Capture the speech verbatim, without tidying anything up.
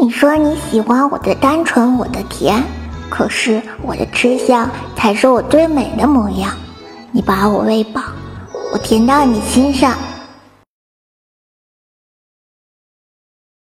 你说你喜欢我的单纯，我的甜，可是我的吃相才是我最美的模样。你把我喂饱，我甜到你心上。